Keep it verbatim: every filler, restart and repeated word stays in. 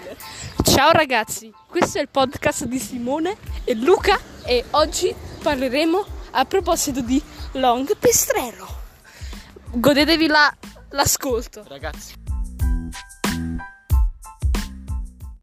Ciao ragazzi, questo è il podcast di Simone e Luca e oggi parleremo a proposito di Long Pistrello. Godetevi la, l'ascolto. Ragazzi.